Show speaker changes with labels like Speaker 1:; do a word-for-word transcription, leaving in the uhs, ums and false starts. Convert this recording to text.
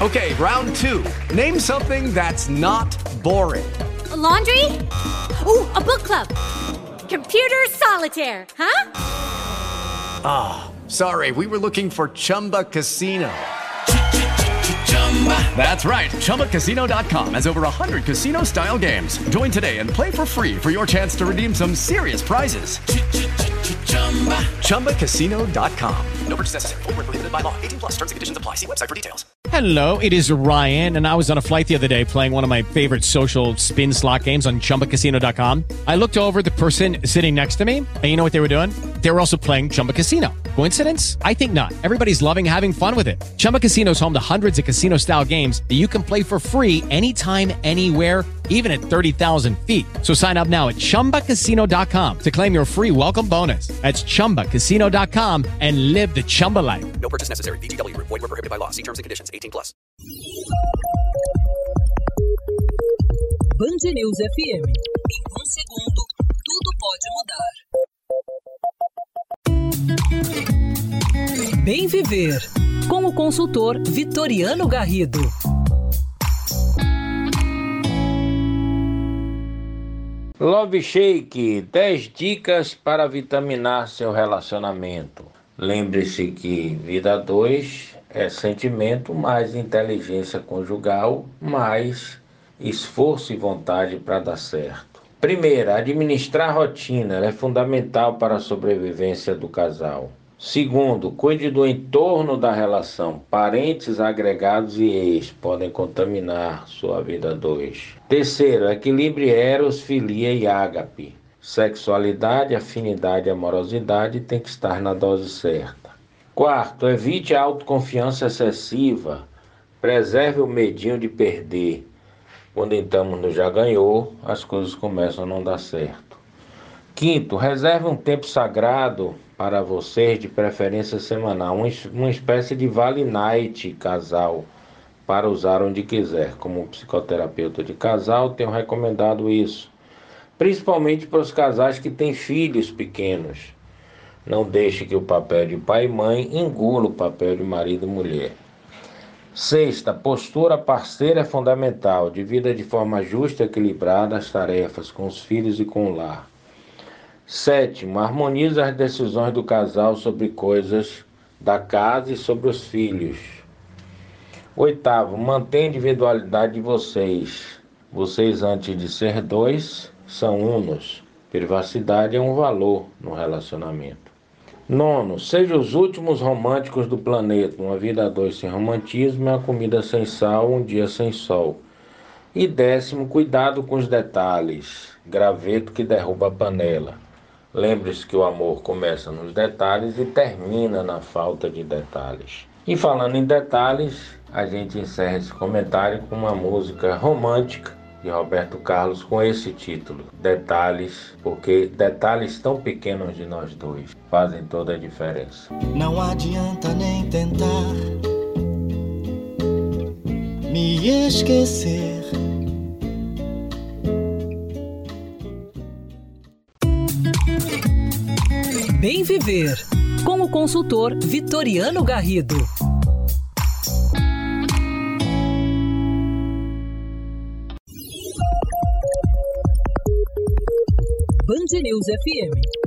Speaker 1: Okay, round two. Name something that's not boring.
Speaker 2: A laundry? Ooh, a book club. Computer solitaire, huh?
Speaker 1: Ah, oh, sorry, we were looking for Chumba Casino. That's right, Chumba Casino dot com has over one hundred casino-style games. Join today and play for free for your chance to redeem some serious prizes. Chumba Casino dot com. No purchase necessary. Void where prohibited by law. eighteen plus terms and conditions apply. See website for details.
Speaker 3: Hello, it is Ryan, and I was on a flight the other day playing one of my favorite social spin slot games on Chumba Casino dot com. I looked over at the person sitting next to me, and you know what they were doing? They were also playing Chumba Casino. Coincidence? I think not. Everybody's loving having fun with it. Chumba Casino is home to hundreds of casino-style games that you can play for free anytime, anywhere, even at thirty thousand feet. So sign up now at Chumba Casino dot com to claim your free welcome bonus. That's Chumba Casino dot com and live the Chumba life.
Speaker 4: No purchase necessary. V G W. Void where prohibited by law. See terms and conditions. eighteen plus.
Speaker 5: Band News F M. Em um segundo, tudo pode mudar. Bem Viver, com o consultor Vitoriano Garrido.
Speaker 6: Love Shake, dez dicas para vitaminar seu relacionamento. Lembre-se que vida dois é sentimento mais inteligência conjugal, mais esforço e vontade para dar certo. Primeiro, administrar a rotina, ela é fundamental para a sobrevivência do casal. Segundo, cuide do entorno da relação. Parentes, agregados e ex podem contaminar sua vida dois. Terceiro, equilibre eros, filia e ágape. Sexualidade, afinidade e amorosidade tem que estar na dose certa. Quarto, evite a autoconfiança excessiva. Preserve o medinho de perder. Quando estamos no já ganhou, as coisas começam a não dar certo. Quinto, reserve um tempo sagrado para vocês, de preferência semanal, uma espécie de vale night casal, para usar onde quiser. Como psicoterapeuta de casal, tenho recomendado isso, principalmente para os casais que têm filhos pequenos. Não deixe que o papel de pai e mãe engula o papel de marido e mulher. Sexta, postura parceira é fundamental. Divida de forma justa e equilibrada as tarefas com os filhos e com o lar. Sétimo, harmonize as decisões do casal sobre coisas da casa e sobre os filhos. Oitavo, mantenha a individualidade de vocês. Vocês, antes de ser dois, são unos. Privacidade é um valor no relacionamento. Nono, seja os últimos românticos do planeta. Uma vida a dois sem romantismo é uma comida sem sal, um dia sem sol. E décimo, cuidado com os detalhes. Graveto que derruba a panela. Lembre-se que o amor começa nos detalhes e termina na falta de detalhes. E falando em detalhes, a gente encerra esse comentário com uma música romântica de Roberto Carlos com esse título, Detalhes, porque detalhes tão pequenos de nós dois fazem toda a diferença.
Speaker 7: Não adianta nem tentar me esquecer.
Speaker 5: Bem Viver, com o consultor Vitoriano Garrido. Band News F M.